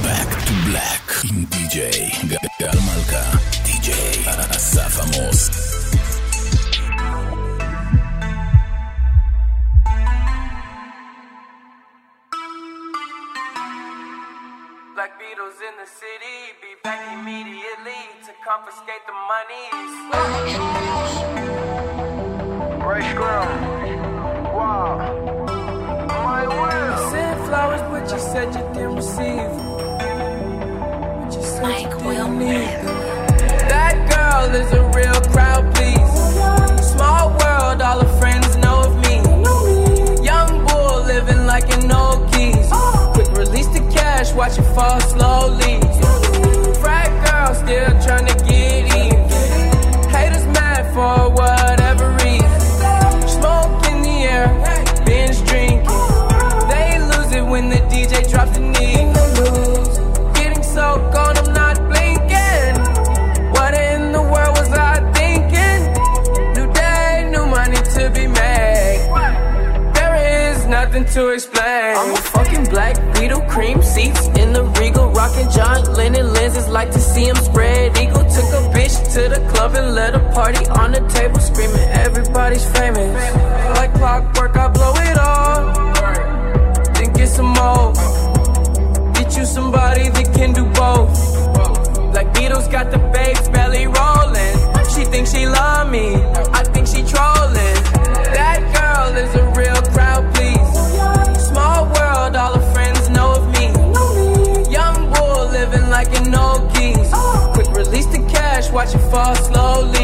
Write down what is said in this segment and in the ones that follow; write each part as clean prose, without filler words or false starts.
Back to Black עם DJ גל מלכה, DJ אסף עמוס. Black Beatles in the city, be back immediately to confiscate the monies. Ray Scrum, wow, my will. Sent flowers, but you said you didn't receive them. But you said you didn't need them. That girl is a real crowd, please. Small world, all her friends know of me. Young bull living like an old geese. Quick release the cash, watch it fall slowly. Frat girl still trying to get even. Haters mad for whatever reason. Smoke in the air, binge drinking. They lose it when the DJ drops the knee. Getting so gone, I'm not blinking. What in the world was I thinking? New day, new money to be made. There is nothing to explain. I'm a fucking Black Beetle, cream seats in the Regal, rocking John Lennon lenses, like to see him spread eagle. Took a bitch to the club and let a party on the table, screaming everybody's famous. Like clockwork, I blow it all, then get some more. Get you somebody that can do both. Black Beatles got the babes belly rolling. She thinks she love me, I think she trolling. That girl is a real crowd, please. Small world, all her friends know of me. Young bull living like an old geese. Quick release the cash, watch it fall slowly.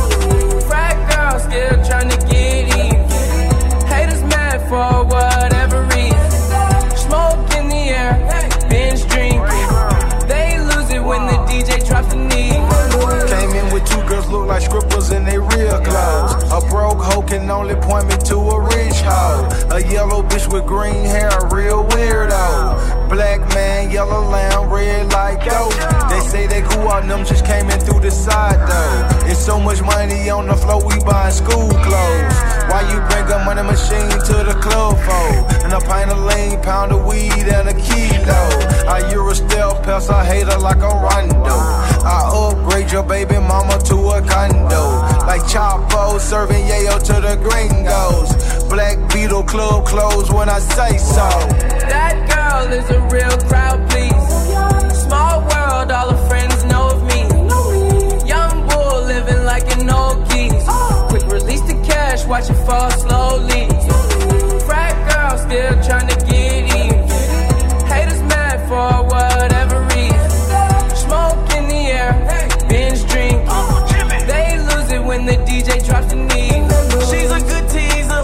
Frat girl still trying to get even. Haters mad for whatever reason. Smoke in the air, binge drinking. They lose it when the DJ drops the knee. Came in with two girls look like scribbles in they real clothes. A broke hoe can only point me to a rich hoe. A yellow bitch with green hair, a real weirdo. Black man, yellow lamb, red like dope. They say they grew out, them just came in through the side though. It's so much money on the floor, we buying school clothes. Why you bring a money machine to the club for? And a pint of lean, pound of weed and a kilo. I Euro stealth pass, I hate her like a Rondo. I upgrade your baby mama to a condo. Like Chapo serving yayo to the gringos. Black Beetle club closed when I say so. That girl is a real crowd, please. Small world, all her friends know of me. Young bull living like an old geese. Quick release the cash, watch it fall slowly. Frat girl still trying to get even. Haters mad for whatever reason. Smoke in the air, binge drinking. They lose it when the DJ drops the knee. She's a good teaser,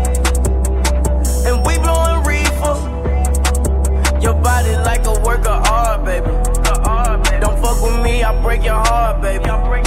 and we blowing reefer. Your body like a work of art, baby. Don't fuck with me, I break your heart, baby.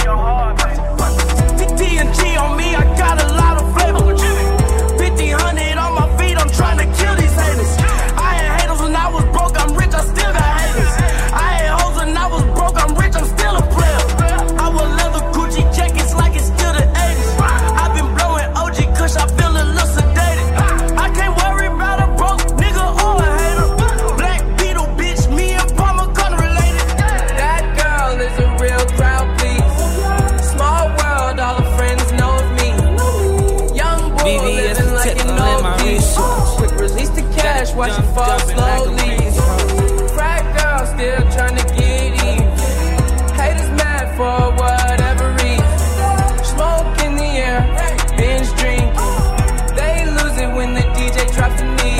TNT on me, I got a lot of flavor. 50-100 on my feet, I'm trying to kill these haters. I had haters when I was broke, I'm rich, I still got haters. I had hoes when I was broke, I'm rich, I'm still a player. I wear leather Gucci jackets like it's still the 80s. I've been blowing OG Kush, I feel a little sedated. I can't worry about a broke nigga or a hater. Black Beetle, bitch, me and Palmer gun related. That girl is a real crowd, please. Small world, all her friends know of me. Young boy living like an old geese. Quick release the cash, watch it fall slowly. Frat girl still trying to get even. Haters mad for whatever reason. Smoke in the air, binge drinking. They lose it when the DJ drops the knee.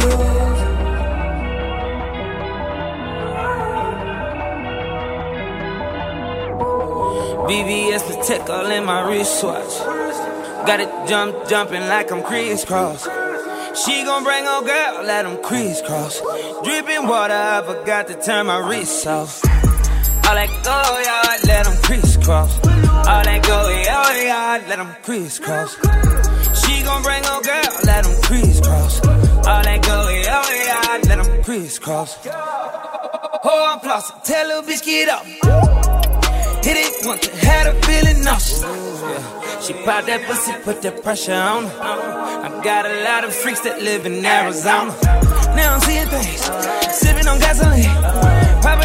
VVS Patek all in my wristwatch. Got it jumping like I'm crisscross. She gon' bring her girl, let them crisscross. Dripping water, I forgot to turn my wrist off. All that go yard, let them crisscross. All that go yard, let them crisscross. She gon' bring her girl, let them crisscross. All that go yard, let them crisscross. Oh, I'm flossing, tell little bitch get up. Hit it once, had a feeling nauseous. She pop that pussy, put that pressure on her. I got a lot of freaks that live in Arizona. Now I'm seeing things, sipping on gasoline.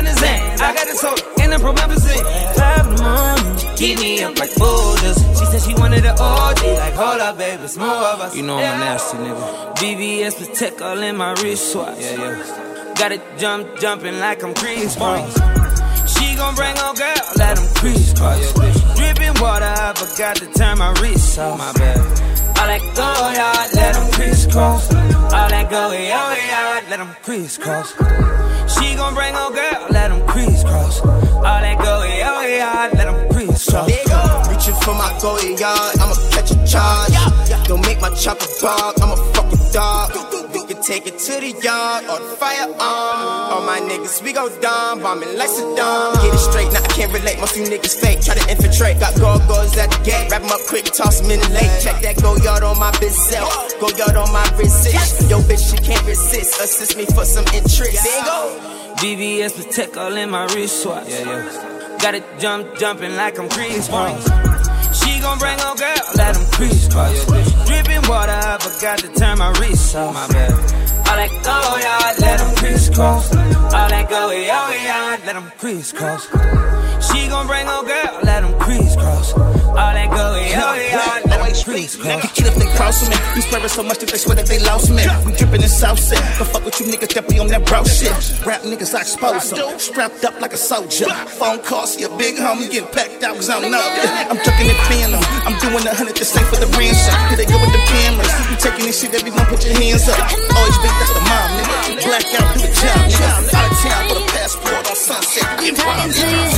niggas so in the promethazine. 5 in the morning, keep me up like boulders. She said she wanted an OG, like hold up, baby, it's more of us. You know I'm a nasty nigga. BBS Protect all in my wristwatch. Yeah. Got it jumping like I'm Chris Cross. She gon' bring on girl, let them crisscross. Dripping water, I forgot to turn my wrist off. My bad. All that go yard, let them crisscross. All that go yard, let them crisscross. She gon' bring on girl, let them crisscross. All that go yard, let them crisscross. Reaching for my go yard, I'ma catch a charge. Don't make my chopper bark, I'm a fucking dog. We can take it to the yard or the firearm. All my niggas, we go dumb, bombing like Saddam. Get it straight, now I can't relate, most you niggas fake. Try to infiltrate, got go-go's at the gate. Wrap them up quick, toss them in the lake. Check that go yard on my bitch self, go yard on my resist. Yo bitch, she can't resist, assist me for some interest. There you go. BBS Protect all in my wristwatch. Yeah. Got it jumping like I'm Chris Cross. She gon' bring on girl, let them crisscross. Dripping water, I forgot to turn my wrist off. My bad. All that go yard, let them crisscross. All that go yard, let them crisscross. She gon' bring on girl, let them crisscross. All that go yard, let them crisscross. Now get if they cross me. You swearing so much that they swear that they lost me. We drippin' in South Set. Don't fuck with you niggas that be on that bro shit. Rap niggas, I expose them. Strapped up like a soldier. Phone calls, your big homie getting packed out cause I'm know. I'm tucking it phantom. I'm doing 100 the same for the ransom. Here they go with the cameras. You taking this shit, everyone put your hands up. Always been that's the mom, nigga. Black out through the job, nigga. Out of town for the passport on Sunset. Get wild,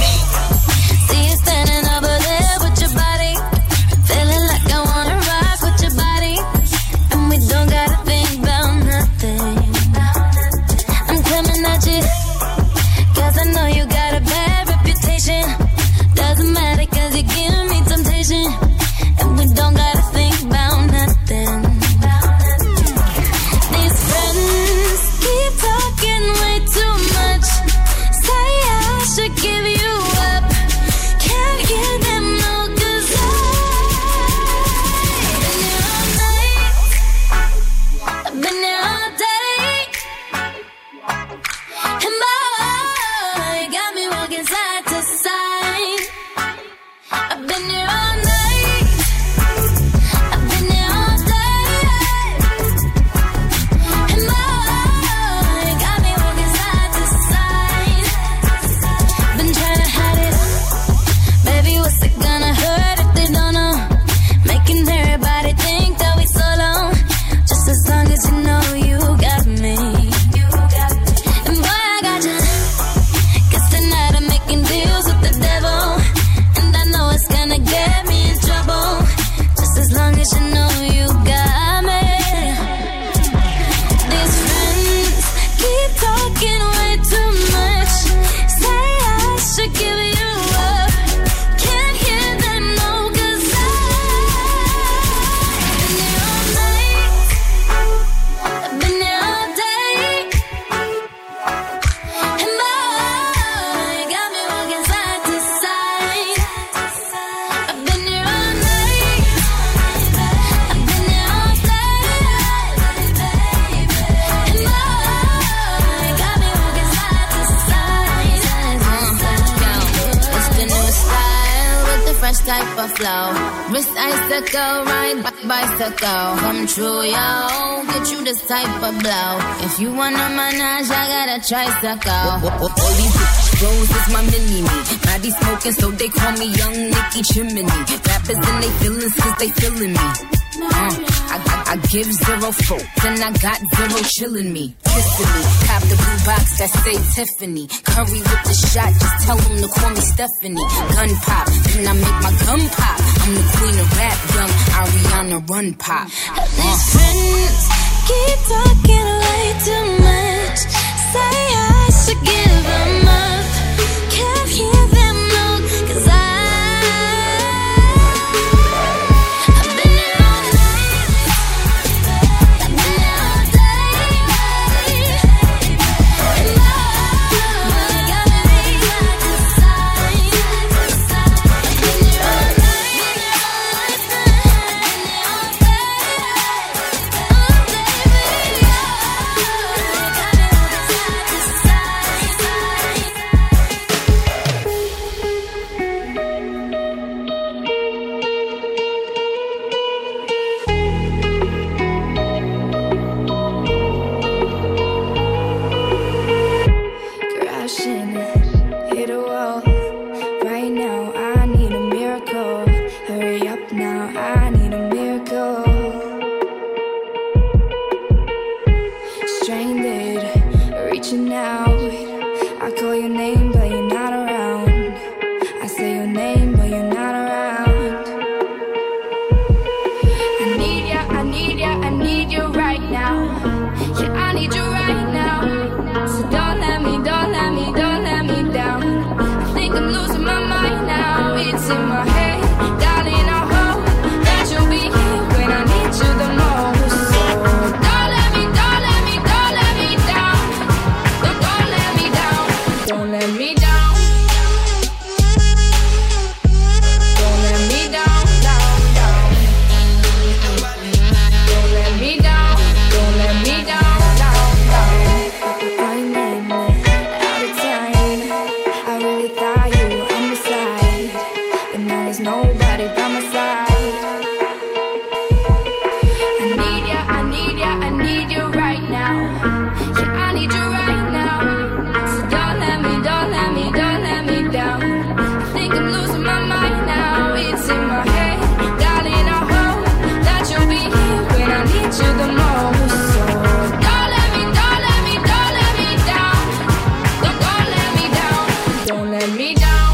see you standing over there with your body, feeling like I wanna rock with your body, and we don't gotta think about nothing. I'm coming at you, cause I know you got a bad reputation. Doesn't matter cause you give me temptation, and we don't gotta think about nothing. These friends keep talking way too much, say I should give you up. Can't hear them no, cause I've been here all day, and boy, you got me walking side to side. I've been here all night, I've been here all day, and boy, you got me walking side to side. Been trying to hide it, baby, what's it gonna hurt if they don't know? Making everybody think that we solo, just as long as you know you got me. And boy, I got you, cause tonight I'm making deals with the devil, and I know it's gonna get me in trouble, just as long as you know you got me. These friends keep talking way too much, say I should give you up. Can't hear them no, cause I've been here all day, and boy, you got me walking side to side. I've been here all night, I've been here all day, and boy, you got me walking side to side. It's the new style with the fresh type of flow. Wrist icicle, ride bicycle. Come true, yo. Get you this type of blow. If you wanna manage, I got a tricycle. All these bitches bros is my mini-me. Body smoking, so they call me Young Nicky Chimney. Rappers and they feelings cause they feeling me. I give zero folk, then I got zero chillin' me. Kissing me, cop the blue box that say Tiffany. Curry with the shot, just tell them to call me Stephanie. Gun pop, then I make my gun pop. I'm the queen of rap, young Ariana Run Pop. These friends keep talking way too much, say I should give them up. Can't hear them no, cause I've been here all night, I've been here all day, and boy, you got me side to side. I've been here all night, I've been here all day, oh baby, you got me walking side to side. I call your name, but you're not around. I say your name, but you're not around. I need ya, I need ya, I need you right now. Yeah, I need you right now. So don't let me, don't let me, don't let me down. I think I'm losing my mind now. It's in my head, darling, I hope that you'll be here when I need you the most. So don't let me, don't let me, don't let me down. Don't let me down. Don't let me down. Don't let me down, down, down. Don't let me down. Don't let me down, down, down. Running out of time. I really thought you were on my side, but now there's nobody by my side. I need ya, I need ya, I need you right now. Yeah, I need you right now. So don't let me, don't let me, don't let me down. I think I'm losing my mind now. It's in my head, darling, I hope that you'll be here when I need you the most. So don't let me, don't let me, don't let me down. Don't let me down. Don't let me down.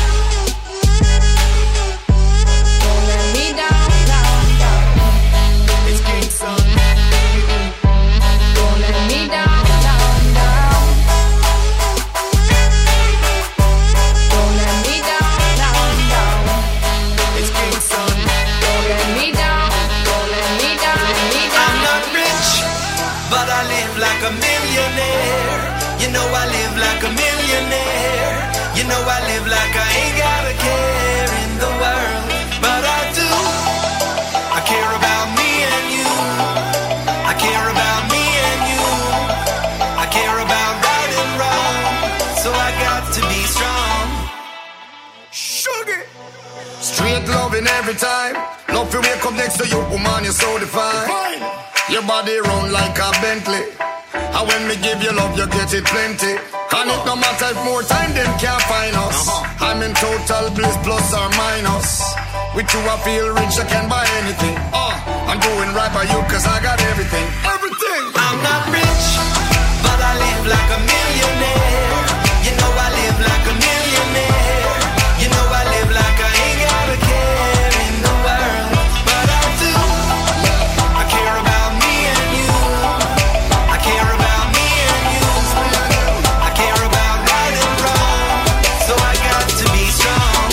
Don't let me down, down, down. It's King Son. Don't let me down, down, down. Don't let me down, down, down. It's King Son. Don't let me down, don't let me down, let me down. I'm not rich, but I live like a millionaire. You know I live like a millionaire. You know I live like I ain't got a care in the world. But I do. I care about me and you. I care about me and you. I care about right and wrong. So I got to be strong. Sugar. Straight loving every time. Love you wake up next to you, woman, you're so divine. Your body round like a Bentley. And when me give you love, you get it plenty. And it no matter if more time, them can't find us. I'm in total bliss, plus or minus. With you I feel rich, I can buy anything. I'm doing right by you, cause I got everything. Everything. I'm not rich, but I live like a millionaire. You know I live like a millionaire. You know I live like I ain't got a care in the world. But I do. I care about me and you. I care about me and you. I care about right and wrong. So I got to be strong.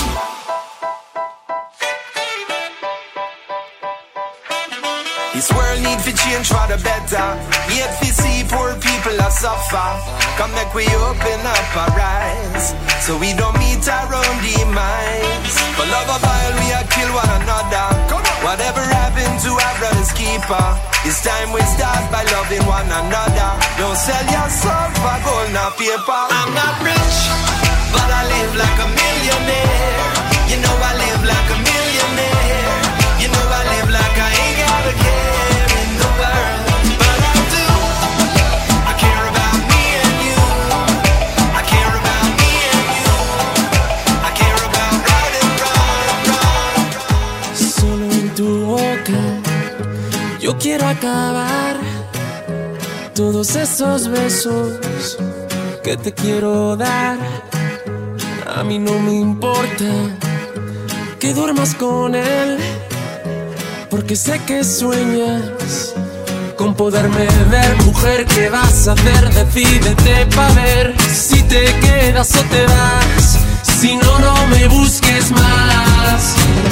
This world need to change for the better. Yet we see poor people are suffer. Come make we open up our eyes, so we don't meet our own demise. For love of oil we are kill one another. Whatever happened to our brother's keeper, it's time we start by loving one another. Don't sell your soul for gold nor paper. I'm not rich, but I live like a millionaire. You know I live like a millionaire. You know I live like I ain't got a care in the world. But I do. I care about me and you. I care about me and you. I care about right and wrong. Solo en tu boca yo quiero acabar todos esos besos que te quiero dar. A mí no me importa que duermas con él, porque sé que sueñas con poderme ver. Mujer, ¿qué vas a hacer? Decídete pa' ver si te quedas o te vas. Si no, no me busques más.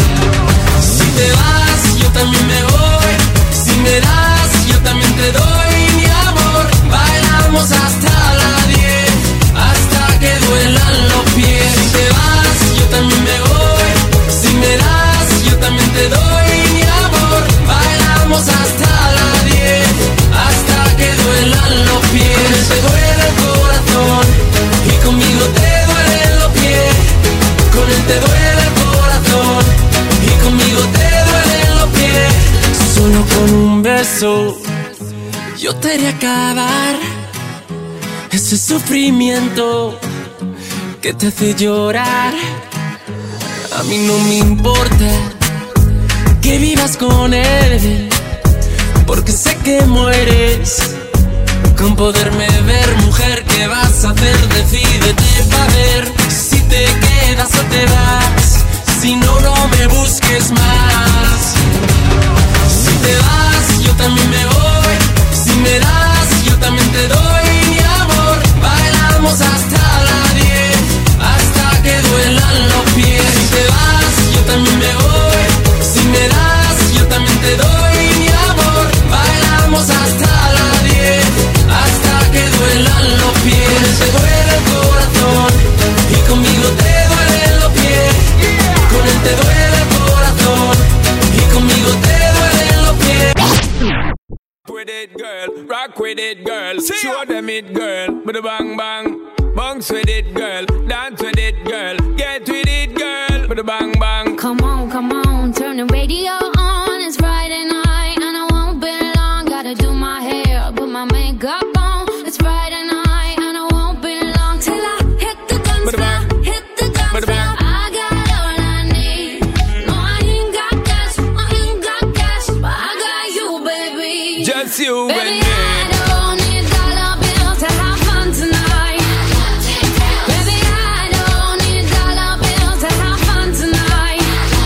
Si te vas, yo también me voy. Si me das, yo también te doy mi amor. Bailamos hasta las 10, hasta que duelan los pies. Si te vas, yo también me voy. Si me das, yo también te doy mi amor. Bailamos hasta las 10, hasta que duelan los pies. Con él te duele el corazón y conmigo te duelen los pies. Con él te duele el corazón y conmigo te duelen los pies. Solo con un beso yo te haré acabar ese sufrimiento que te hace llorar. A mí no me importa que vivas con él, porque sé que mueres con poderme ver, mujer, ¿qué vas a hacer? Decídete pa' ver si te quedas o te vas. Si no, no me busques más. Si te vas, yo también me voy. Si me das, yo también te doy mi amor. Bailamos hasta las 10, hasta que duelan los pies. Si te vas, yo también me voy. Si me das, yo también te doy mi amor. Bailamos hasta las 10, hasta que duelan los pies. Te duele el corazón y conmigo te duelen los pies. Con él te duele el corazón y conmigo te duelen los pies. With it, girl, rock with it, girl. Show them it, girl. With a bang bang, bounce with it, girl. Dance with it, girl. Get with it, girl. With a bang bang. Come on, turn the radio on. It's Friday night and I won't be long. Gotta do my hair, put my makeup on. It's Friday night and I won't be long till I hit the dance floor, hit the dance floor. I got all I need. No, I ain't got cash, but I got you, baby. Just you Baby, and me. I don't need dollar bills to have fun tonight. Baby, I don't need dollar bills to have fun tonight.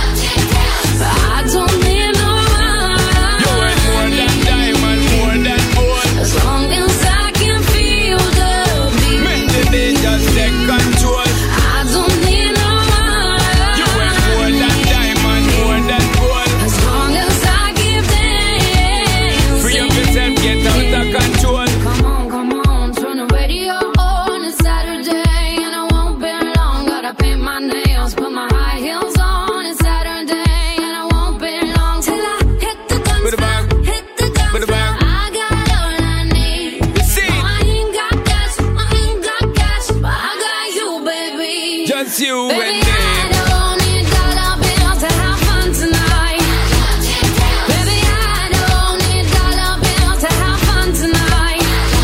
But I don't need no money. You ain't more than diamond, more than gold. As long as I can feel the beat. Make the day just take control. I don't need no money. You ain't more than diamond, more than gold. As long as I keep dancing. Free up yourself, get out of control. Come on, turn the radio on. It's Saturday and I won't be long. Gotta paint my nails, put my high heels on. It's Saturday and I won't be long till I hit the dance With a floor, bang. hit the dance With a floor. bang. I got all I need. See? No, I ain't got cash, but I got you, baby. Just you Baby, and I me. don't need dollar bills to have fun tonight. Baby, I don't need dollar bills to have fun tonight.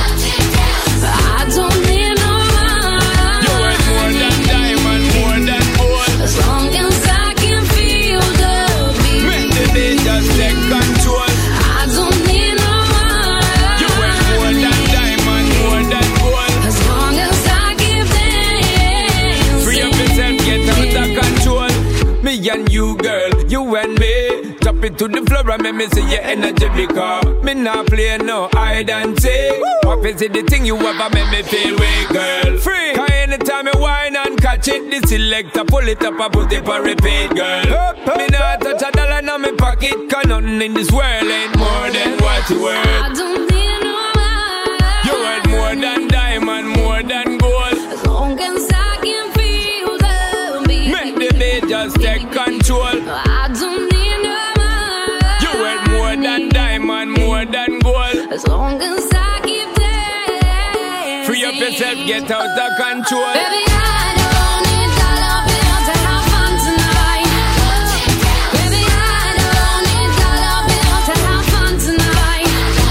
But I don't need no You money. ain't more than diamond, more than gold. As long as I can feel the beat. Make the day just take control. I don't need no You ain't money. more than diamond, more than gold. As long as I keep dancing. Free up yourself, get out of control. Me and you, girl, you and me. Drop it to the floor and make me see your energy because me not play no hide and seek. What is it the thing you ever make me feel weak, girl? Free. Cause anytime you whine and catch it, the selector pull it up and put it for repeat, girl. Me not touch a dollar in my pocket, cause nothing in this world ain't more than what you worth. I don't need no money. You worth more than diamond, more than gold. As long as I can feel the beat. Make the day just take control. I don't need no money. You worth more than diamond, more than gold. As long as I keep dancing. Free up yourself, get out of control. Baby, I don't need dollar bills to have fun tonight. Baby, I don't need dollar bills to have fun tonight.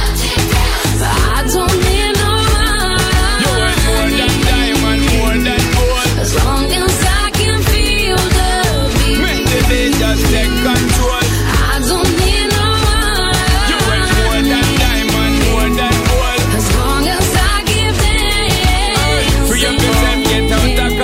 But I don't need no You worth more than money. diamond, more than gold. As long as I can feel the beat. Make the day just take control. I don't need no You worth more money. than diamond, more than gold. As long as I keep dancing. Free up yourself, get out of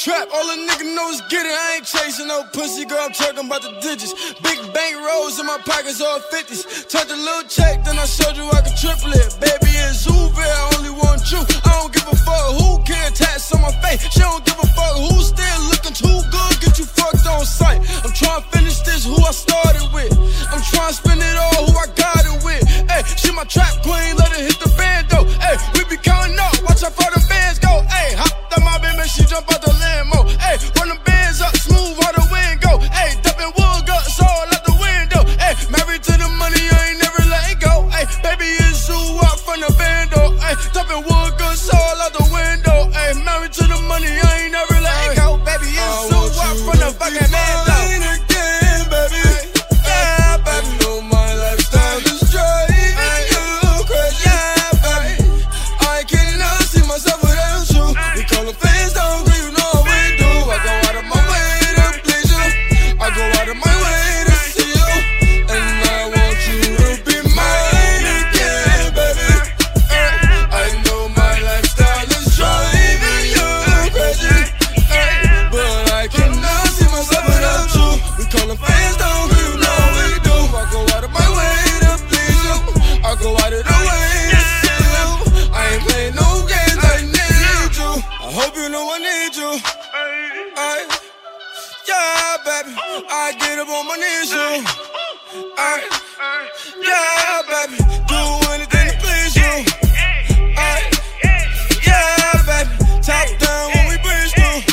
trap, all a nigga know is get it. I ain't chasing no pussy, girl, I'm talking about the digits. Big bank rolls in my pockets, all 50s. Touch a little check, then I showed you I could triple it. Baby, it's Uber, I only want you. I don't give a fuck who can attach on my face. She don't give a fuck who's still looking too good, get you fucked on sight. I'm trying to finish this, who I started with. I'm trying to spend it all, who I got it with. Hey, she my trap queen, let her hit the band though. Hey, we be counting up, watch how far the bands go. Hey, hop that my baby, she jump out the Lambo. Hey, run the bands up, smooth how the wind go. Hey, dumping wood guts all out the window. Hey, married to the money, I ain't never let it go. Hey, baby, it's you up from the bando. Hey, dumping wood guts all out the window. Hey, married to the money, I ain't never let it go. Baby, it's you up from the fucking bando. I get up on my knees, you. Yeah, baby, do anything to please you. Yeah, baby, top down when we breeze through.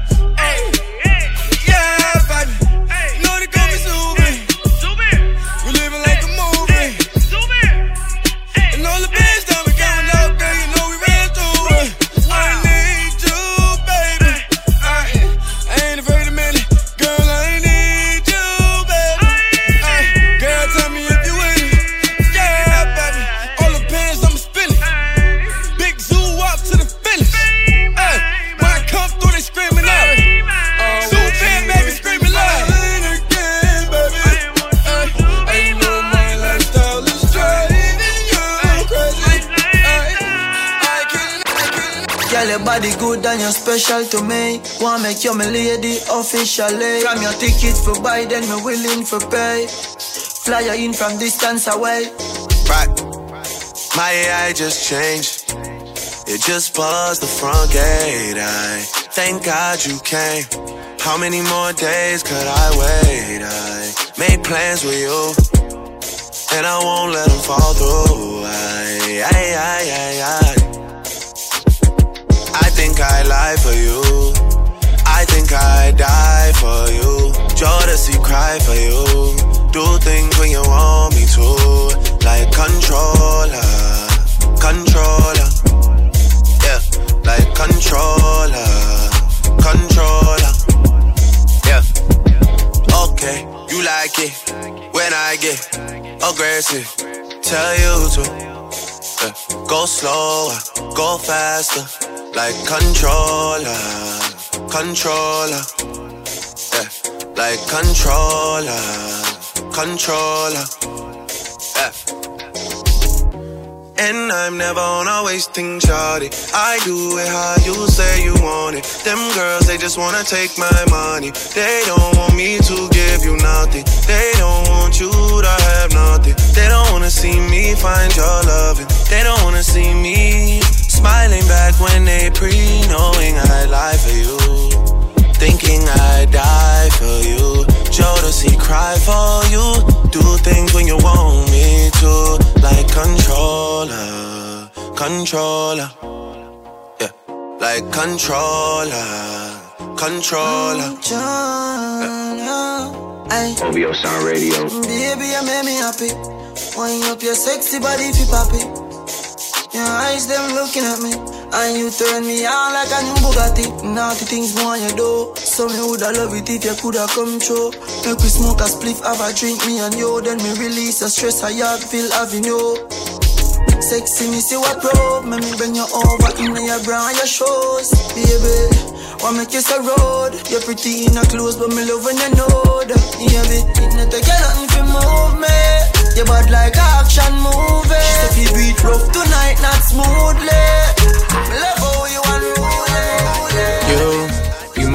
Yeah, baby, know they call me Zuby. We living like a movie. And all the bands that we going out, girl, you know we ran through it. I need you, baby. I ain't afraid of men. Your body good and you're special to me. Wanna make you my lady officially. From your ticket for buy, then me willing for pay. Fly you in from distance away. Right, my AI just changed. It just buzzed the front gate. I thank God you came. How many more days could I wait? I made plans with you, and I won't let them fall through. I think I lie for you. I think I die for you. Jodeci cry for you. Do things when you want me to. Like controller. Controller. Yeah. Like controller. Controller. Yeah. Okay. You like it when I get aggressive. Tell you to. Go slower. Go faster. Like controller, controller, yeah. Like controller, controller, yeah. And I'm never on a wasting shawty. I do it how you say you want it. Them girls, they just wanna take my money. They don't want me to give you nothing. They don't want you to have nothing. They don't wanna see me find your loving. They don't wanna see me smiling back when they knowing I lie for you, thinking I die for you. Jodeci cry for you. Do things when you want me to. Like controller, controller, yeah. Like controller, controller. OVO Sound Radio. Baby, you make me happy. Wind up your sexy body if you poppy. Your eyes, them looking at me. And you turn me on like a new Bugatti. Naughty things more you do. So me woulda love it if you coulda come true. Make we smoke a spliff, have a drink, me and you. Then me release the stress I have, feel having you. Sexy, me see what probe. Me bring you over in your bra and your shoes. Baby, wanna make you so road. You're pretty in a clothes, but me love when you know that. Yeah, it not take nothing to move me. You bad like action movie. She say feel beat rough tonight, not smoothly. Me love how you unruly. You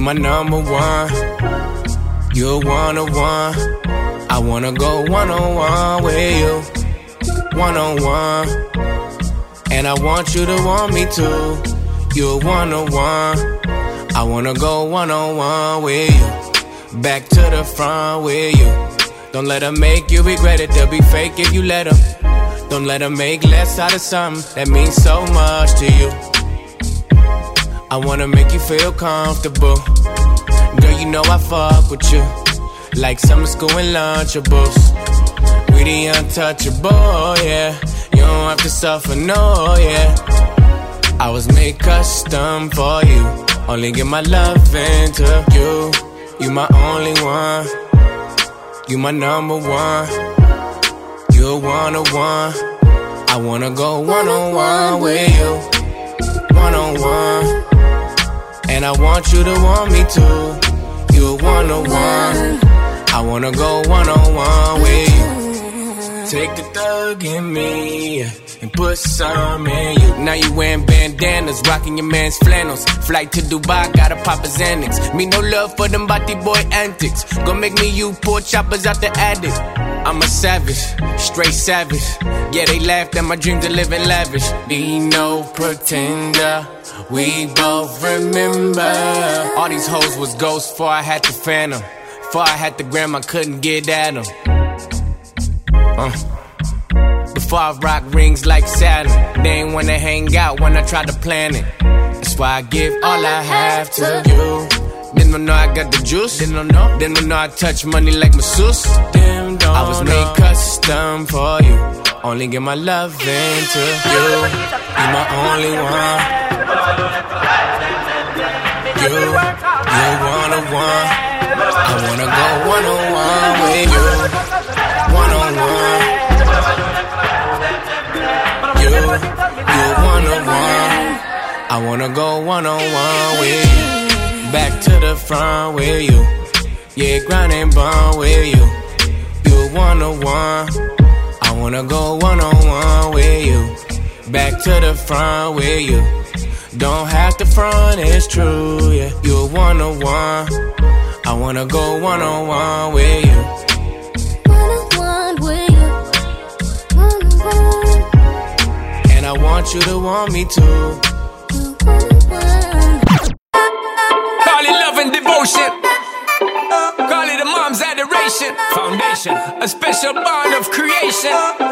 my number one. You're one-on-one. I wanna go one-on-one with you. One-on-one. And I want you to want me too. You're one-on-one. I wanna go one-on-one with you. Back to the front with you. Don't let her make you regret it. They'll be fake if you let them. Don't let her make less out of something that means so much to you. I wanna make you feel comfortable. Girl, you know I fuck with you like summer school and Lunchables. We the untouchable, yeah. You don't have to suffer, no, yeah. I was made custom for you. Only give my love into you. You my only one. You my number one. You're one-on-one. I wanna go one-on-one with you. One-on-one. And I want you to want me too. You're one-on-one. I wanna go one-on-one with you. Take the thug in me and put some in you. Now you wearing bandanas, rocking your man's flannels. Flight to Dubai, gotta pop a Xanax. Me no love for them body boy antics. Gon' make me you poor choppers out the attic. I'm a savage, straight savage. Yeah, they laughed at my dream to live in lavish. Be no pretender, we both remember. All these hoes was ghosts before I had the phantom. Before I had the gram, I couldn't get at them. Before I rock rings like Saturn. They ain't wanna hang out when I try to plan it. That's why I give all I have to you. Didn't know I got the juice. Didn't know I touch money like masseuse. I was made custom for you. Only give my love into you. You're my only one. You're one-on-one. I wanna go one-on-one with you. One-on-one. You're one-on-one. I wanna go one-on-one with you. Back to the front with you. Yeah, grind and bond with you. You're one-on-one. I wanna go one-on-one with you. Back to the front with you. Don't have to front, it's true, yeah. You're one-on-one. I wanna go one-on-one with you. One-on-one with you. One-on-one. And I want you to want me too. Call it love and devotion. Call it a mom's adoration. Foundation, a special bond of creation.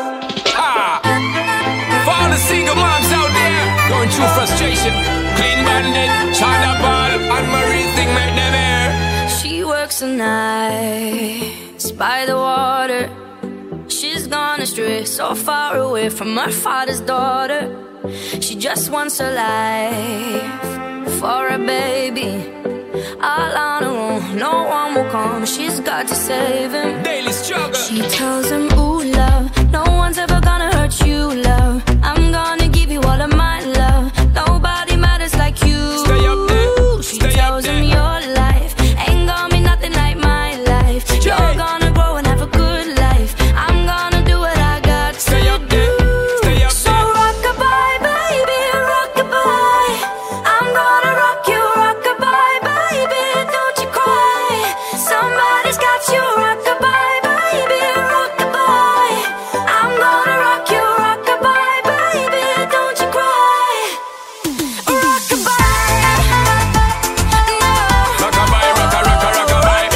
For all the single moms out there going through frustration. Clean Bandit, China Ball, and Marie thing make them air. She works the nights by the water. She's gone astray, so far away from her father's daughter. She just wants her life for a baby. All on her own, no one will come. She's got to save him. Daily struggle. She tells him, ooh, love, no one's ever gonna hurt you, love. I'm gonna give you all of my love. Nobody matters like you. Stay up there. She tells him your life ain't gonna be nothing like my life. You're gonna grow and have a good life. I'm gonna do what I got to Stay up there. Stay up So there. rock-a-bye, baby, rock-a-bye. I'm gonna rock you, rock-a-bye, baby, don't you cry. Somebody's got you, rock-a-bye, baby, rock-a-bye. I'm gonna rock you, rock-a-bye, baby, don't you cry. Rock-a-bye, no. Rock-a-bye, rock-a-rock-a, rock-a-bye.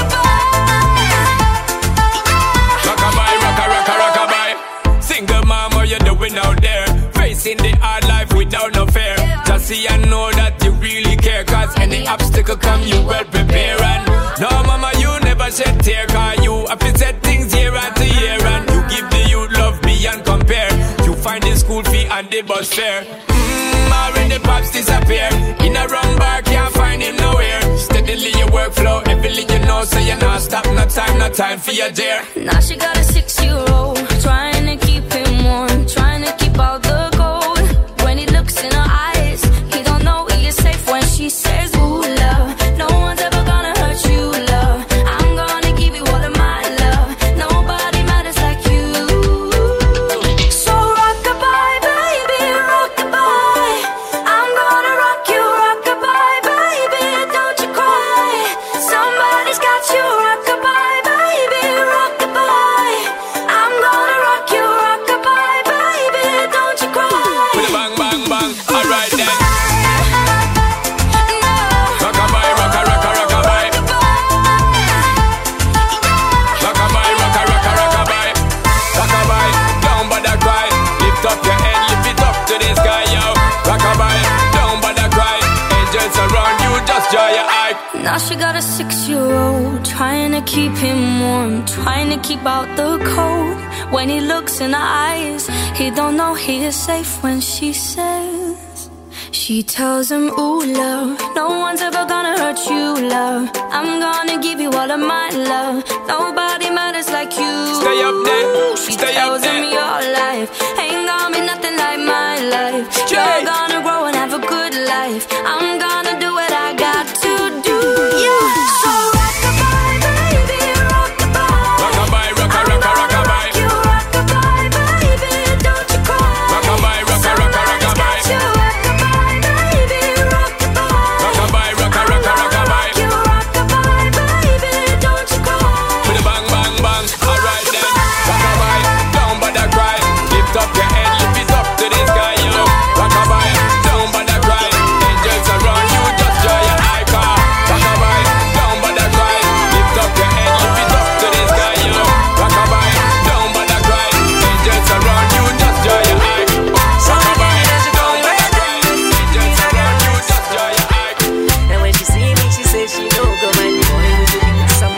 Rock-a-bye, rock-a-rock-a, rock-a-bye. Single mom, what you doing out there? Facing the hard life without no fear. Just see and know that you really care. Cause any obstacle come, you well prepare. And no, mama, you never shed tear. Cause you have to set things year after year. And you give the youth love beyond compare. You find the school fee and the bus fare. Already pops disappear. In a wrong bar, can't find him nowhere. Steadily your workflow, everything you know. So you not stop, no time for your dare. Now she got a 6-year-old, trying to keep him warm, trying to keep out the cold. When he looks in her eyes, he don't know he is safe when she says, ooh, love, no one's ever gonna hurt you, love. I'm gonna give you all of my love. Nobody matters like you. So rock-a-bye, baby, rock-a-bye. I'm gonna rock you, rock-a-bye, baby, don't you cry. Now she got a 6-year-old, trying to keep him warm, trying to keep out the cold. When he looks in her eyes, he don't know he is safe when she says, she tells him, ooh, love, no one's ever gonna hurt you, love. I'm gonna give you all of my love. Nobody matters like you. Stay up there. She Stay tells up there. him your life ain't gonna be nothing like my life. You're gonna grow and have a good life. I'm gonna do what I got to do. Yeah. So rock-a-bye, baby, rock-a-bye. Rock-a-bye, rock-a-rock-a, rock-a-bye. You rock-a-bye, baby, don't you cry. Rock-a-bye, rock-a-rock-a, rock-a-bye. You rock-a-bye, baby, rock-a-bye. Rock-a-bye, rock-a-rock-a, rock-a-bye. You rock-a-bye, baby, don't you cry. With a bang, bang, bang. Alright then. Rock-a-bye, don't bother cry. Lift up your head, lift it up to the sky, you know. Rock-a-bye, don't bother cry. Angels around you, just dry your eye car. Rock-a-bye, don't bother cry. Lift up your head, lift it up to the sky, you know. Rock-a-bye, don't bother cry. Angels around you, just dry your eye. Rock-a-bye, don't bother cry. Angels around you, just dry your eye. And when she see me, she says she no go man. Boy, would you give me some?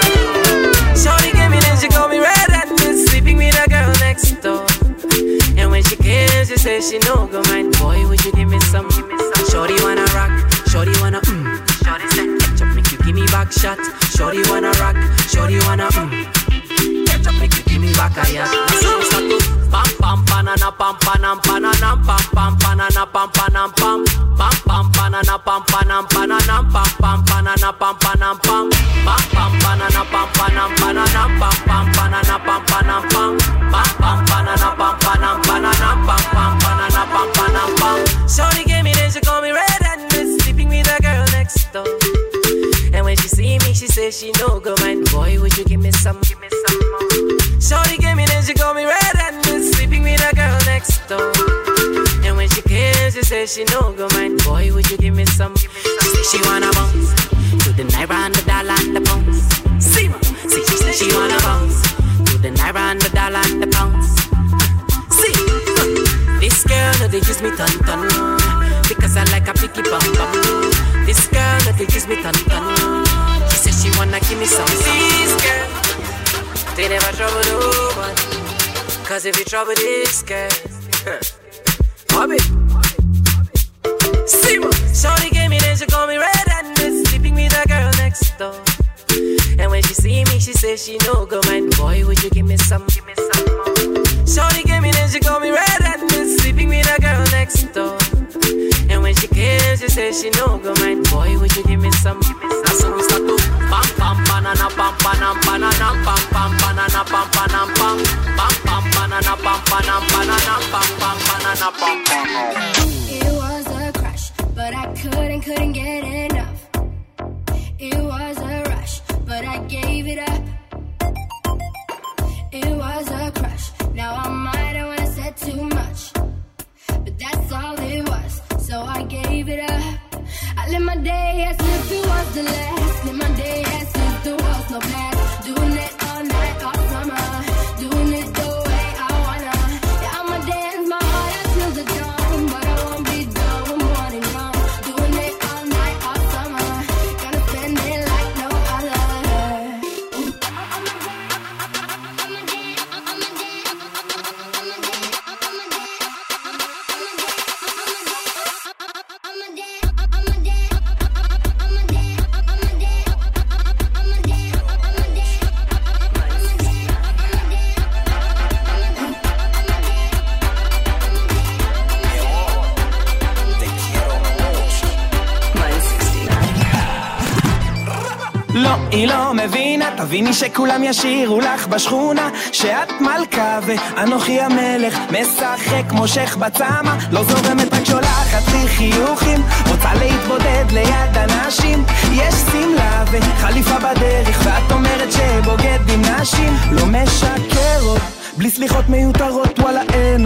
Shorty gave me, then she called me red-handed, sleeping with a girl next door. And when she came, she said she no go mind. Boy, would you give me some? Shorty wanna rock, shorty wanna Shorty said, ketchup make you give me back shot. Shorty wanna rock, shorty wanna ketchup make you give me back a yacht. So we start to pam pam panana pam panam pananam pam pam panana pam panam pam pam pam panana pam panam pananam pam pam panana pam panam pam pam pam panana pam panam pananam pam pam panana pam panam pam pam pam panana pam panam pananam pam pam panana pam panam pam. Shorty gave me, then she called me red-handed, sleeping with a girl next door. And when she see me, she says she no go mind. Boy, would you give me some? Give me some more. Shorty gave me, then she called me red-handed, sleeping with a girl next door. And when she came, she says she no go mind. Boy, would you give me some? She said she wanna bounce to the naira and the dollar and the pounds. See ma, see she said she wanna bounce to the naira and the dollar and the pounds. See, this girl no they use me ton ton because I like a picky bum bum. This girl no they use me ton ton. She said she wanna give me some. This girl, they never trouble no one. Cause if you trouble this girl, Bobby. See what? Shorty gave me, then she called me red-handed, sleeping with a girl next door. And when she see me, she says she no go mind. Boy, would you give me some? Give me some more. Shorty gave me, then she called me red-handed, sleeping with a girl next door. And when she came, she says she no go mind. Boy, would you give me some? Give me some. So we start to pam pam banana pam panam banana pam pam banana pam panam pam pam pam banana pam panam banana pam pam banana pam pam. It was a crush, but I couldn't get enough. It was a rush, but I gave it up. It was a crush. Now I might have wanna said too much, but that's all it was. So I gave it up. I live my day as if it was the last. Live my day as if there was no past. Doing it all night, all summer. Doing it the way I wanna. Yeah, I'ma dance my heart out till the dawn, but I won't be done when morning comes. Doing it all night, all summer. Gonna spend it like no other. לא, היא לא מבינה, תביני שכולם ישירו לך בשכונה שאת מלכה ואנוכי המלך, משחק מושך בצמה, לא זורמת רק שולחת לי חיוכים, רוצה להתבודד ליד אנשים, יש סמלה וחליפה בדרך ואת אומרת שבוגד עם נשים, לא משקר עוד, בלי סליחות מיותרות וואלה אין עוד,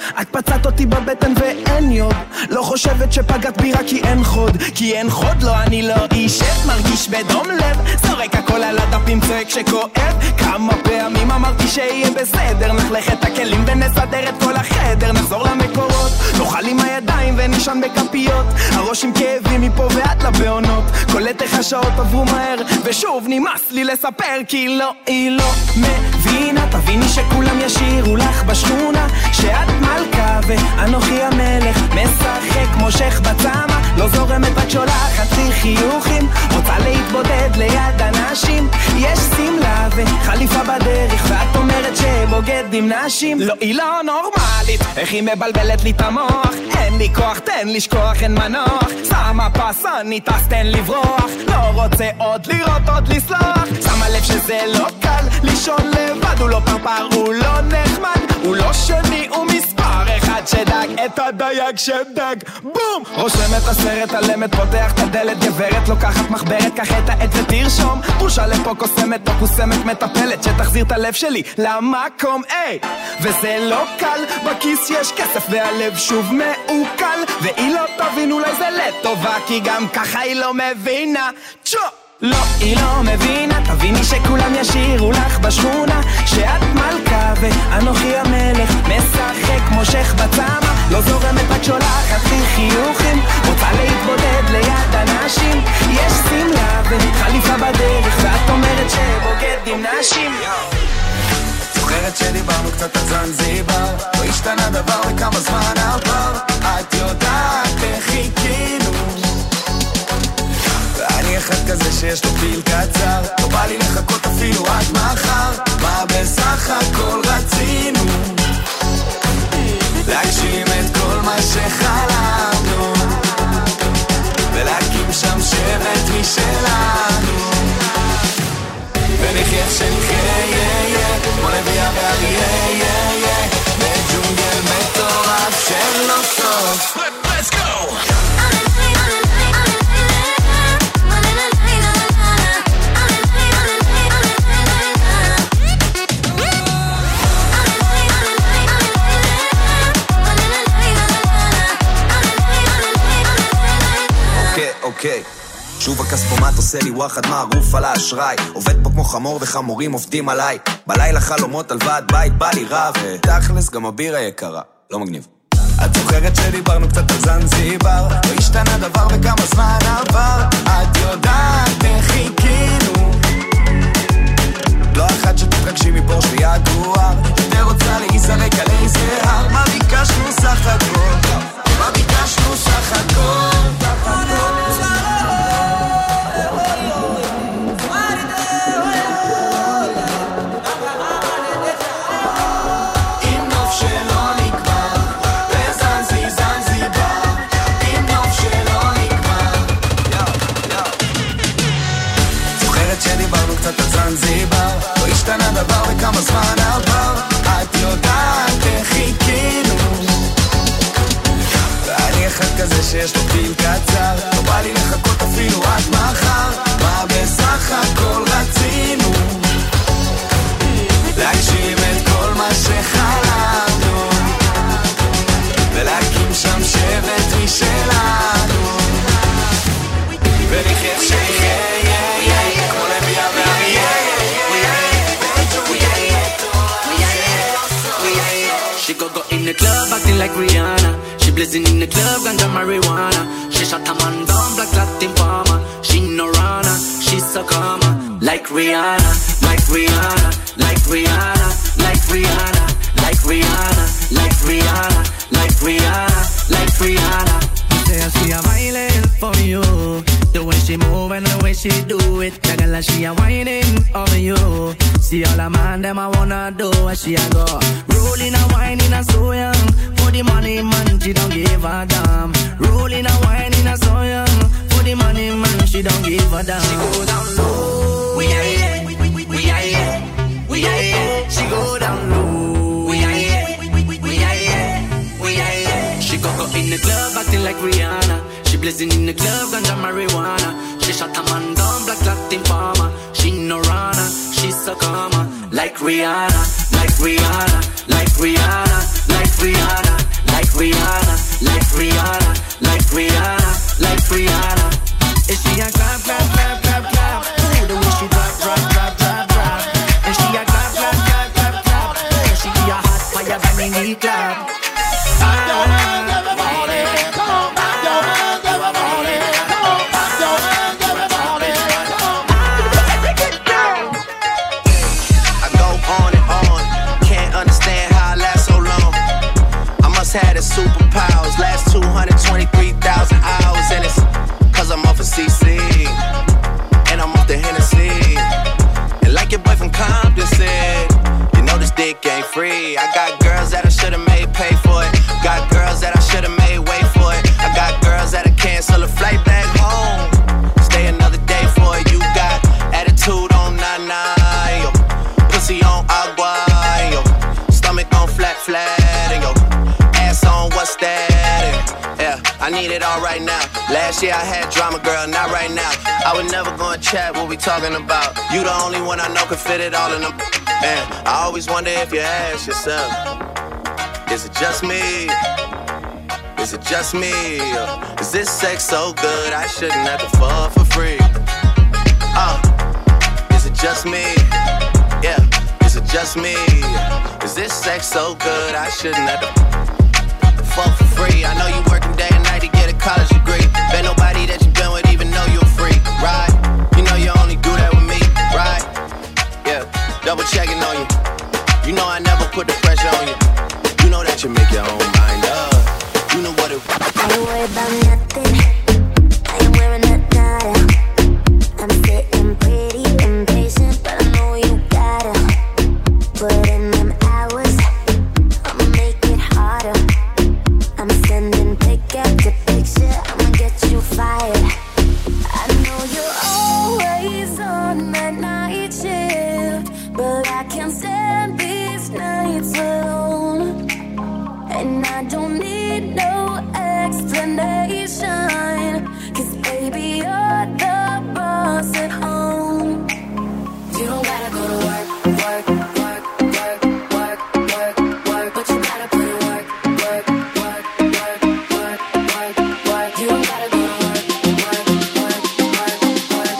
את פצעת אותי בבטן ואין יוד. לא חושבת שפגעת בי רק כי אין חוד, כי אין חוד, לא אני לא אישת, מרגיש בדום לב, זורק הכל על הדפים, צועק שכואב. כמה פעמים אמרתי שיהיה בסדר, נחלך את הכלים ונסדר את כל החדר, נחזור למקורות, נאכל עם הידיים ונישן בכפיות, הראש עם כאבים מפה ועד לבעונות, קולט איך השעות עברו מהר ושוב נמאס לי לספר, כי לא, היא לא מבינה. תביני שכולם ישירו לך בשכונה שאת מלכה ואנוכי המלך, משחק מושך בצמה, לא זורמת רק שולחת לי חיוכים, רוצה להתבודד ליד אנשים, יש סמלה וחליפה בדרך ואת אומרת שבוגד עם נשים. לא, היא לא נורמלית, איך היא מבלבלת לי את המוח, אין לי כוח, תן לשכוח, אין מנוח, שמה פסנית אז תן לברוח, לא רוצה עוד לראות, עוד לסלוח, שמה לב שזה לא קל לישון לבד, הוא לא פרפר, הוא לא נחמד, הוא לא שני, הוא מספר אחד שדג את הדייג שדג, בום! רושם את הסרט הלמת, פותח את הדלת, גברת לוקחת מחברת, קח את העט ותרשום, פושה לפה קוסמת או קוסמת מטפלת, שתחזיר את הלב שלי למקום, איי! וזה לא קל, בכיס יש כסף והלב שוב מעוקל, והיא לא תבין, אולי זה לטובה, כי גם ככה היא לא מבינה, צ'ו! לא, היא לא מבינה, תביני שכולם ישירו לך בשכונה שאת מלכה ואנוכי המלך, משחק מושך בצמה, לא זורמת רק שולחת לי חיוכים, רוצה להתבודד ליד אנשים, יש סמלה וחליפה בדרך ואת אומרת שבוגד עם נשים. זוכרת שדיברנו קצת על זנזיבר, לא השתנה דבר וכמה זמן עבר, את יודעת איך חיכינו, אני אחד כזה שיש לו פיל קצר, לא בא לי לחכות אפילו עד מחר, מה בסך הכל רצינו? להגשים את כל מה שחלמנו ולהקים שם שבט משלנו ונחיה שנחיה כמו לביאה ואריה בג'ונגל מטורף של לא סוף. Let's go! אוקיי, שוב הכספומט עושה לי וואחד מערוף על האשראי, עובד פה כמו חמור וחמורים עובדים עליי, בלילה חלומות על ועד בית בא לי רע, ותכלס גם הבירה יקרה, לא מגניב. את זוכרת שדיברנו קצת על זנזיבר, לא השתנה דבר וכמה זמן עבר, את יודעת איך חיכינו, לא אחת שתתרגשי מפורש ליד רוח, יותר רוצה להיזרק על איזה הר, מה ביקשנו סך הכל, מה ביקשנו סך הכל. זנזיבר, לא השתנה דבר וכמה זמן עבר, את יודעת איך חיכינו, ואני אחד כזה שיש לו פיל קצר, לא בא לי לחכות אפילו עד מחר, מה בסך הכל רצינו? להגשים את כל מה שחלמנו ולהקים שם שבט משלנו ונחיה שיהיה כמו לביאה ואריה. She go in the club acting like Rihanna. She blazing in the club ganja marijuana. She shot a man down black Latin farmer. She no runner, she so calmer. Like Rihanna, like Rihanna, like Rihanna, like Rihanna, like Rihanna, like Rihanna, like Rihanna, like Rihanna. Say I see a violin for you, the way she move and the way she do it. The girl she a whining over you. See all the man them I wanna do what she a go. Rolling a whining a so young. For the money man she don't give a damn. Rolling a whining a so young. For the money man she don't give a damn. She go down low. We are here. We are here. We are here. She go down low. We are here. We are here. We are here. She go in the club acting like Rihanna. She blazing in the club ganja marijuana. She shot a man down black Latin farmer. She no runner, she so calmer. Like Rihanna, like Rihanna, like Rihanna, like Rihanna. like Rihanna, like Rihanna, like Rihanna, like Rihanna. Is she a clap, clap, clap, clap, clap? Ooh, the way she drop, drop, drop, drop, drop. Is she a clap, clap, clap, clap, clap? Ooh, she be a hot fire burning the club. Had his superpowers last 223,000 hours, and it's cause I'm off of CC and I'm off the Hennessy. And like your boy from Compton said, you know this dick ain't free. I got girls that I should've made pay for it. Got girls that I should've made wait for it. I got girls that I cancel a flight back home, stay another day for it. You got attitude on nana, yo, pussy on agua, yo, stomach on flat, and yo, on what's that? Yeah, I need it all right now. Last year I had drama, girl, not right now. I would never go and chat what we talking about. You the only one I know could fit it all in them. And I always wonder if you ask yourself, is it just me? Is it just me? Is this sex so good I shouldn't have to fuck for free? Is it just me? Yeah, is it just me? Is this sex so good I shouldn't have to fuck for free? I know you working day and night to get a college degree. Bet nobody that you been with even know you're free, right? You know you only do that with me, right? Yeah, double checking on you. You know I never put the pressure on you. You know that you make your own mind up. You know what it was. I don't worry about nothing. I am wearing a nada. I'm sitting pretty impatient, but I know you gotta put in them hours. I'ma make it harder. I'm sending pick after picture, I'ma get you fired. I know you're always on that night shift, but I can't stand these nights alone. And I don't need no explanation, 'cause baby you're the boss at home. You don't gotta go to work, work, work, work, work, work, work, but you gotta put in work, work, work, work, work, work, work. You don't gotta go to work, work, work, work, work,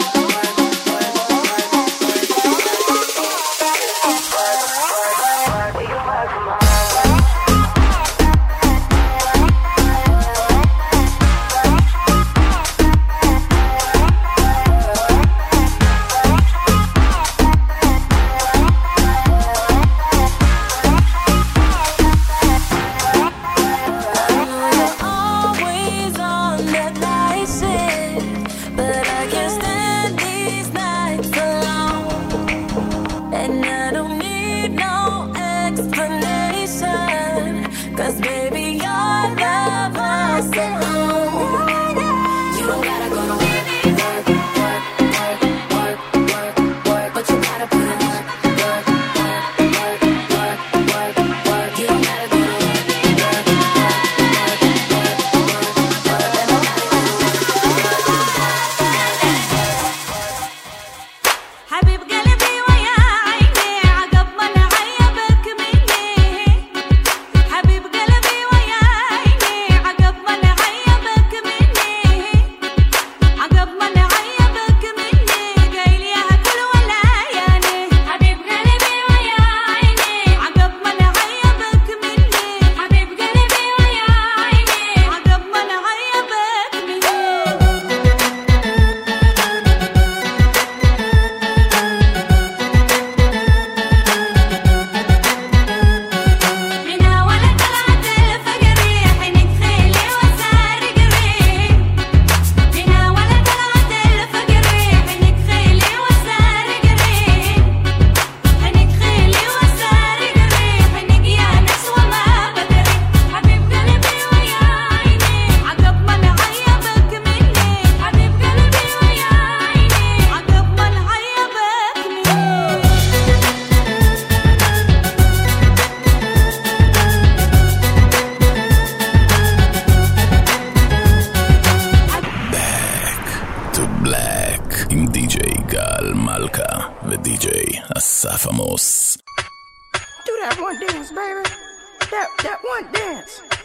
אסף עמוס. Do that one dance, baby. That one dance.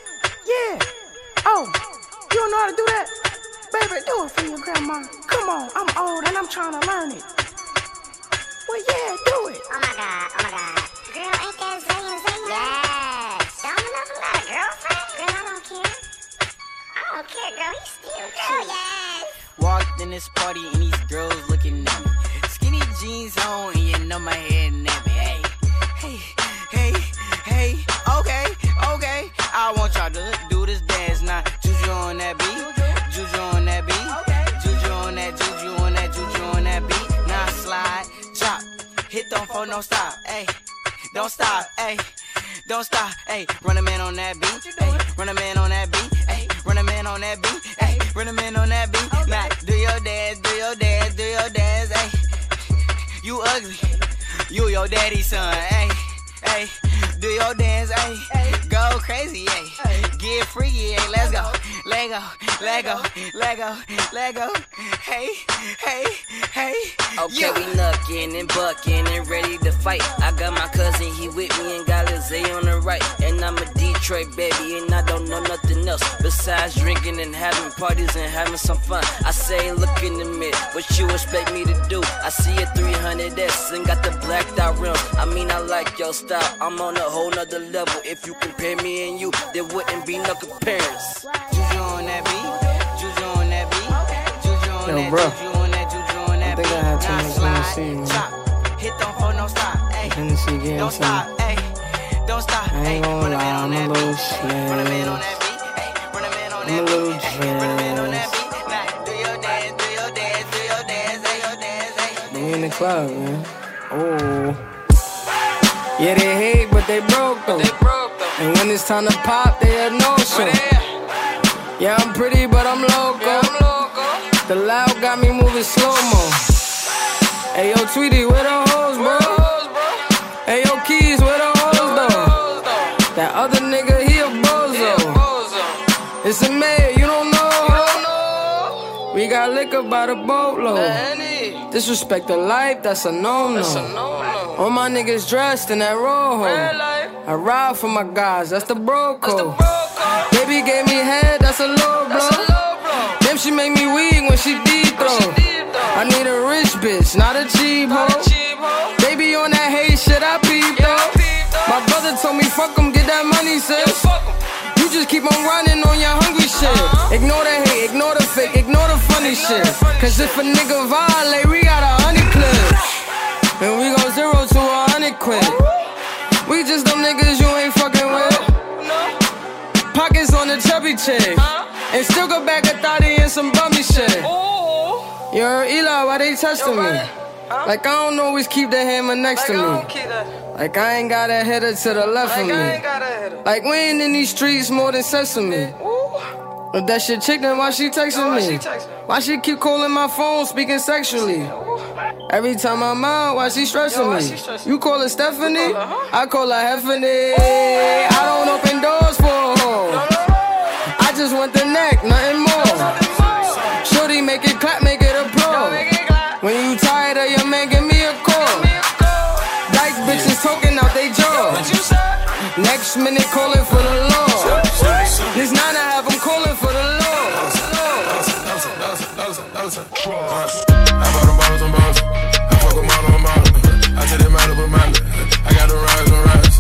Yeah. Oh, you don't know how to do that? Baby, do it for your grandma. Come on, I'm old and I'm trying to learn it. Well, yeah, do it. Oh my God. Girl, ain't that Zayn? Yes. Don't enough about a girlfriend? Girl, I don't care. I don't care, girl. He's still girl, yes. Walked in this party and these girls looking at me. Skinny jeans on and you know my head nappy. Hey, okay. I want y'all to do this dance now. Juju on that beat, juju on that beat, juju on that, juju on that, juju on that beat. Now slide, drop, hit them for no stop, ayy. Don't stop, ayy. Don't stop, ayy. Run a man on that beat, ayy. Run a man on that beat, ayy. Run a man on that beat, ayy. Run a man on that beat. Okay. Now do your dance, ayy. You ugly, you your daddy's son, ayy. Hey, do your dance, ayy. Go crazy, ayy. Get freaky, ayy. Let's go. Lego. Hey. Okay, we knuckin' and buckin' and ready to fight. I got my cousin, he with me and got Lizzie on the right. And I'm a Detroit baby and I don't know nothing else besides drinking and having parties and having some fun. I say, look in the mirror, what you expect me to do? I see a 300S and got the blacked out rims. I mean, I like your style. I'm on a whole nother level. If you compare me and you, there wouldn't be no comparison. Juju on that beat, juju on that beat, juju on that, bro. Juju on that, juju on that beat. I think I had too much Hennessy, man. Hit them for no stop, ayy. Hennessy game, don't stop, ayy. Don't stop, I ain't gonna lie, I'm a little slashed. I'm a little dressed. We in the club, man. Oh. Yeah, they hate, but they broke though. And when it's time to pop, they a no-show. Yeah, I'm pretty, but I'm loco. The loud got me moving slow-mo. Hey, yo, Tweety, where the hoes, bro? Hey, yo, Keys, where the hoes, though? That other nigga, he a bozo. It's a mayor, you don't know. We got liquor by the boatload. Disrespect the life, that's a no-no. All my niggas dressed in that rojo. I ride for my guys, that's the bro code. Baby gave me head, that's a low blow. Damn, she make me weak when she deep throw. I need a rich bitch, not a cheap hoe. Baby on that hate shit, I peep though. My brother told me fuck him, get that money, sis. You just keep on running on your hungry shit. Ignore the hate, ignore the fake, ignore the funny shit. Cause if a nigga violate, we got 100 clips. And we go 0 to 100 quid. We just them niggas you ain't fucking with. Pockets on the chubby chick. And still go back a thotty and some bummy shit. You heard Eli, why they testing me? Like I don't always keep the hammer next to me. Like I ain't got a header to the left of me. Like we ain't in these streets more than sesame. If that shit chick, then why she texting me? Why she keep calling my phone, speaking sexually? Every time I'm out, why she stressing me? You call her Stephanie? I call her Heffany. I don't open doors for a hoe. I just want the neck, nothing more. Shorty, make it clap, make it applaud. When you tired of your man, give me a call. Dyke bitches talking out they jaw. Next minute calling for the law. This 9 I have them calling for the law. I bought them bottles on bottles. I fuck with model on model. I tell them model with model. I got the rise on rise.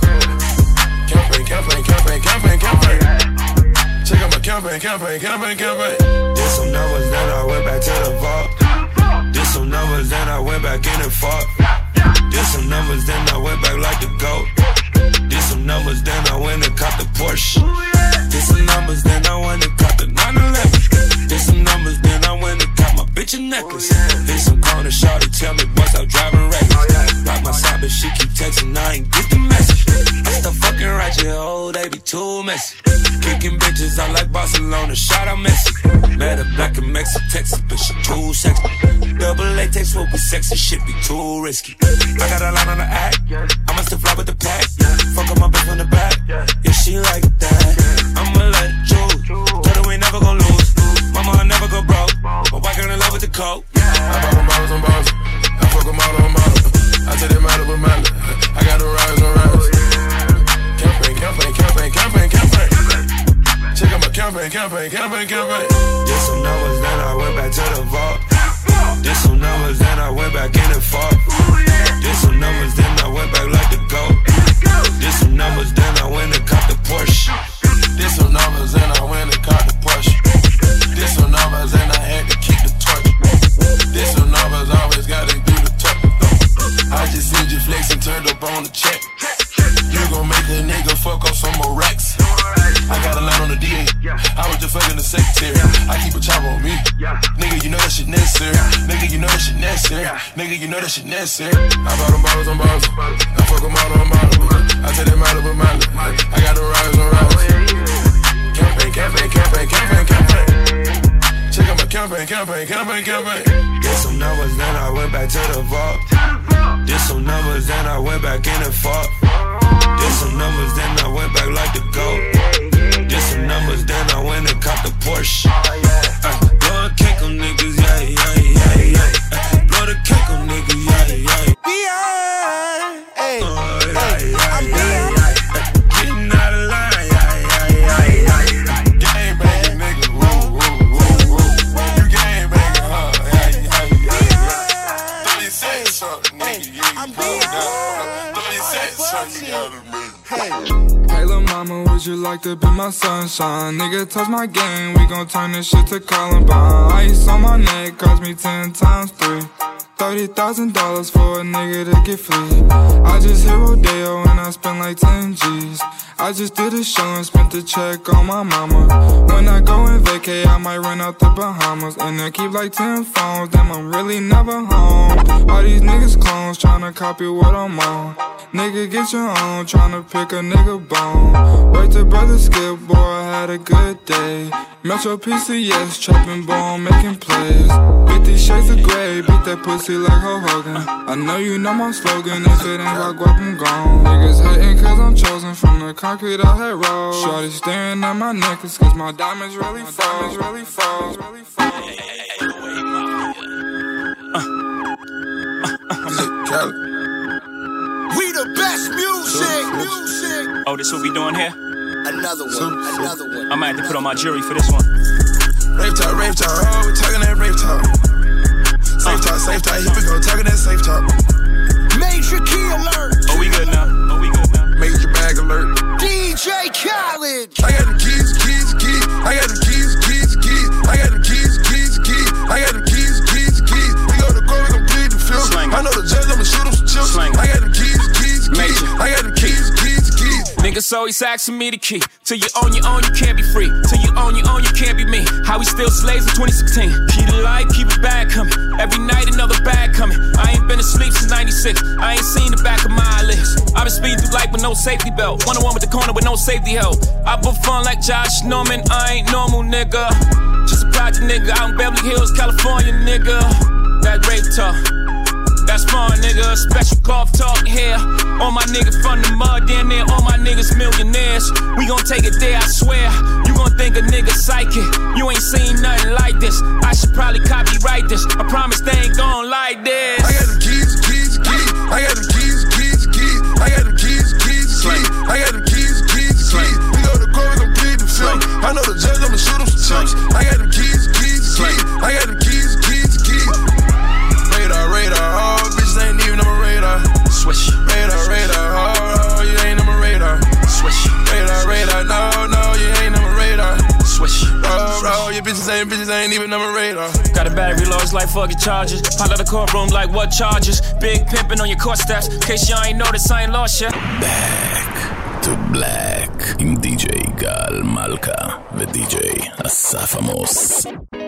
Campaign. Check out my campaign. Did some numbers, then I went back to the vault. Did some numbers, then I went back in and fought. Did some numbers, then I went back like the GOAT. Did some numbers, then I went and caught the Porsche. Did some numbers, then I went and caught the 911. Did some numbers, then I went and caught my bitch a necklace. Hit some corner, shawty tell me boys I'm driving reckless. Rock my side, but she keep texting, I ain't get the message. I still fucking ratchet, oh, they be too messy. Kicking bitches out like Barcelona, shot out Messi. Met a black in Mexico, Texas, but she too sexy. Double latex will be sexy, shit be too risky. I got a line on the act, I'ma still fly with the pack. Fuck up my bitch on the back, yeah, she like that. I'ma let it choose, tell her we never gon' lose. Mama, I never go broke, but why girl in love with the coke? I bought them bottles on bottles, I fuck with model on model. I tell them model with model, I got the rise on rise. Campaign. Check campaign. Did some numbers, then I went back to the vault. Did some numbers, then I went back in and fought. Did some numbers, then I went back like the GOAT. Did some numbers, then I went and caught the Porsche. Did some numbers, then I went and caught the Porsche. Did some numbers, then I had to keep the torch. Did some numbers, always gotta do the talk. I just seen you flex and turned up on the check. You gon' make a nigga fuck up some more racks. I got a line on the DA. I was just fucking the secretary. I keep a chopper on me. Nigga, you know that shit necessary. Nigga, you know that shit necessary. Nigga, you know that shit necessary. I bought them bottles on bottles. I fuck them all on bottles. I take them out of a mile. I got them riders on riders. Campaign. Check out my campaign. Did some numbers, then I went back to the vault. Did some numbers, then I went back in and fought. Did some numbers, then I went back like the GOAT. Did some numbers, then I went and caught the Porsche. Blow a cake on niggas, yeah. Blow the cake on niggas, yeah. Beyond, hey, I'm beyond. Getting out of line, yeah. Gang banging nigga, woo. You gang banging, Let me say something, nigga. I'm beyond. Let me say something, Hey lil' mama, would you like to be my sunshine? Nigga, touch my game, we gon' turn this shit to Columbine. Ice on my neck cost me 10 times 3. $30,000 for a nigga to get free. I just hit Rodeo and I spent like 10 G's. I just did a show and spent the check on my mama. When I go and vacay, I might run out the Bahamas. And I keep like 10 phones, damn I'm really never home. All these niggas clones tryna copy what I'm on. Nigga get your own, tryna pick a nigga bone. Wait till brother Skip, boy, I had a good day. Metro PCS, trapping bone, making plays. 50 shades of gray, beat that pussy like Hulk Hogan. I know you know my slogan, if it ain't about guap, I'm gone. Niggas hating cause I'm chosen from the concrete I had rolled. Shorty staring at my necklace cause my diamonds really fall. We the best music. Oh, this what we doing here? Another one. I might have to put on my jury for this one. Rave talk, oh, we talking that rave talk. Safe talk, here we go, talking that safe talk. Major key alert. Oh, we good now. Major bag alert. DJ Khaled. I got them keys. I got them keys. I got them keys. I got them keys. We go to court, we gon' plead the field. I know the judge, I'ma shoot him some chips. I got them keys. I got them keys. Niggas always asking me the key. Till you own your own, you can't be free. Till you own your own, you can't be me. How we still slaves in 2016. Keep the light, keep it bag coming. Every night another bag coming. I ain't been asleep since 96. I ain't seen the back of my eyelids. I've been speeding through life with no safety belt. 101 with the corner with no safety help. I put fun like Josh Norman. I ain't normal, nigga. Just a project nigga out in Beverly Hills, California, nigga. That rape talk. That's fun, nigga. Special golf talk here. All my niggas from the mud, damn near all my niggas millionaires. We gon' take it there, I swear. You gon' think a nigga psychic. You ain't seen nothing like this. I should probably copyright this. I promise they ain't gon' like this. I got them keys. I got them keys. I got them keys. I got them keys. We go to court, we gon' plead the film. I know the judge, I'ma shoot him some chips. I got them keys. I got them keys. Radar, oh, bitches ain't even on my radar. Swish. Radar, oh, you ain't on my radar. Swish. Radar, no, you ain't on my radar. Swish. Oh, your bitches ain't even on my radar. Got a battery low, it's like fucking charges. Pop out the courtroom like what charges? Big pimpin' on your court steps. In case y'all ain't noticed, I ain't lost yet. Back to Black עם די.ג'יי גל מלכה ודי.ג'יי אסף עמוס.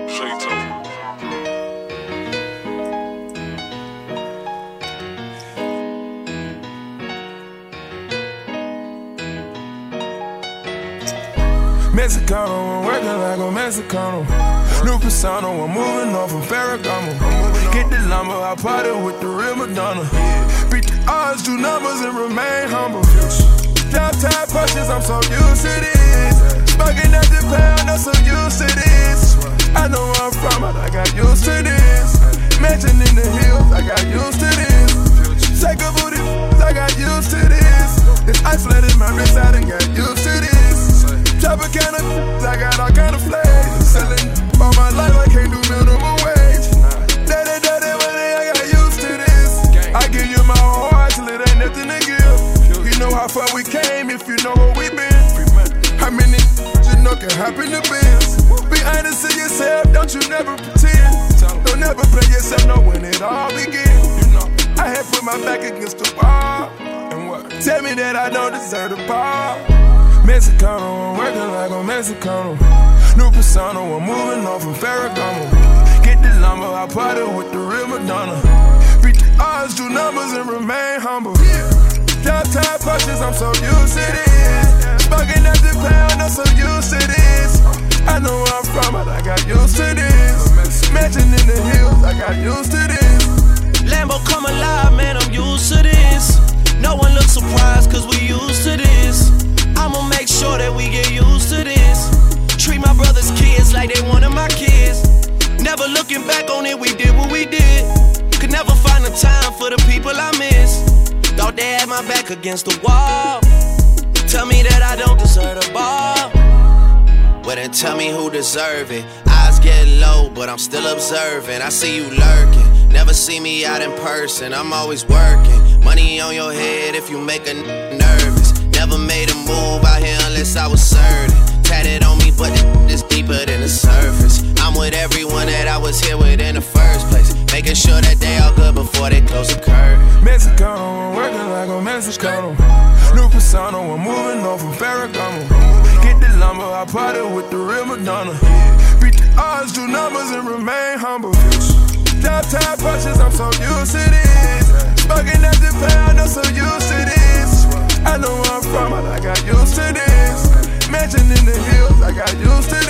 Mexicano, I'm working like a Mexicano. New persona, I'm moving on from Ferragamo. Get the lumber, I party with the real Madonna. Beat the odds, do numbers, and remain humble. Drop top punches, I'm so used to this. Smoking at the pound, I'm so used to this. I know where I'm from, but I got used to this. Mansion in the hills, I got used to this. Take a booty, I got used to this. It's isolated, my wrist, I done got used to this. Rapper kind of, I got all kind of flags. Selling all my life, I can't do minimum wage. Daddy, money, I got used to this. I give you my whole heart till it ain't nothing to give. You know how far we came if you know where we been. How many you know can happen to biz? Be honest to yourself, don't you never pretend. Don't never play yourself, know when it all begins. I had put my back against the wall. And what? Tell me that I don't deserve the ball. Mexicano, I'm working like a Mexicano. New persona, I'm moving on from Ferragamo. Get the lumber, I party with the real Madonna. Beat the odds, do numbers and remain humble. Top time punches, I'm so used to this. Smoking at the pound, I'm so used to this. I know where I'm from, but I got used to this. Mansion in the hills, I got used to this. Lambo come alive, man, I'm used to this. No one looks surprised, cause we used to this. I'ma make sure that we get used to this. Treat my brother's kids like they one of my kids. Never looking back on it, we did what we did. Could never find the time for the people I miss. Thought they had my back against the wall. Tell me that I don't deserve the ball. Well then tell me who deserve it. Eyes get low, but I'm still observing. I see you lurking. Never see me out in person, I'm always working. Money on your head if you make a nervous. Never made a move out here unless I was certain. Tatted on me, but it's deeper than the surface. I'm with everyone that I was here with in the first place. Making sure that they all good before they close the curtain. Mexicano, I'm working like a Mexicano. New persona, I'm moving on from Ferragamo. Get the lumber, I party with the real Madonna. Beat the odds, do numbers and remain humble. Top time punches, I'm so used to this. Smoking at the pound, I'm so used to this. I know where I'm from, but I got used to this. Mansion in the hills, I got used to